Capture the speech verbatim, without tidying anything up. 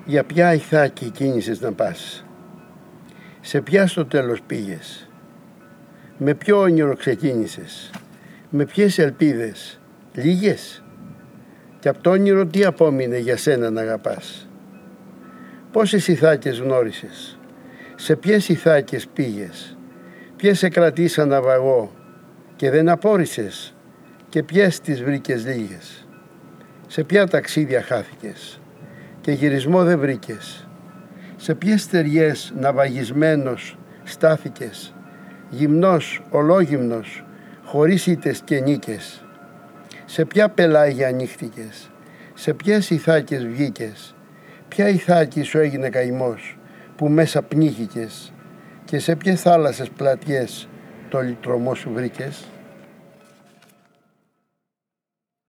Για ποια ηθάκη κίνησες να πας? Σε ποια στο τέλος πήγες? Με ποιο όνειρο ξεκίνησες? Με ποιες ελπίδες? Λίγες? Και απ' το όνειρο τι απόμεινε για σένα να αγαπάς? Πόσες ηθάκες γνώρισες? Σε ποιες ηθάκες πήγες? Ποιες σε κρατήσαν ναυαγό και δεν απόρρισες? Και ποιες τις βρήκες λίγες? Σε ποια ταξίδια χάθηκες και γυρισμό δεν βρήκες? Σε ποιες στεριές ναυαγισμένος στάθηκες, γυμνός, ολόγυμνος, χωρίς ήττες και νίκες? Σε ποια πελάγια ανοίχτηκες? Σε ποιες ηθάκες βγήκες? Ποια ηθάκη σου έγινε καημός που μέσα πνίγηκες? Και σε ποιες θάλασσες πλατιές το λυτρωμό σου βρήκες?